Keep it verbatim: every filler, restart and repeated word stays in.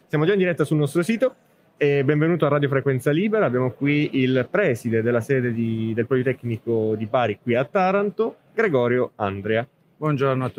Siamo già in diretta sul nostro sito e benvenuto a Radio Frequenza Libera. Abbiamo qui il preside della sede di, del Politecnico di Bari qui a Taranto, Gregorio Andrea. Buongiorno a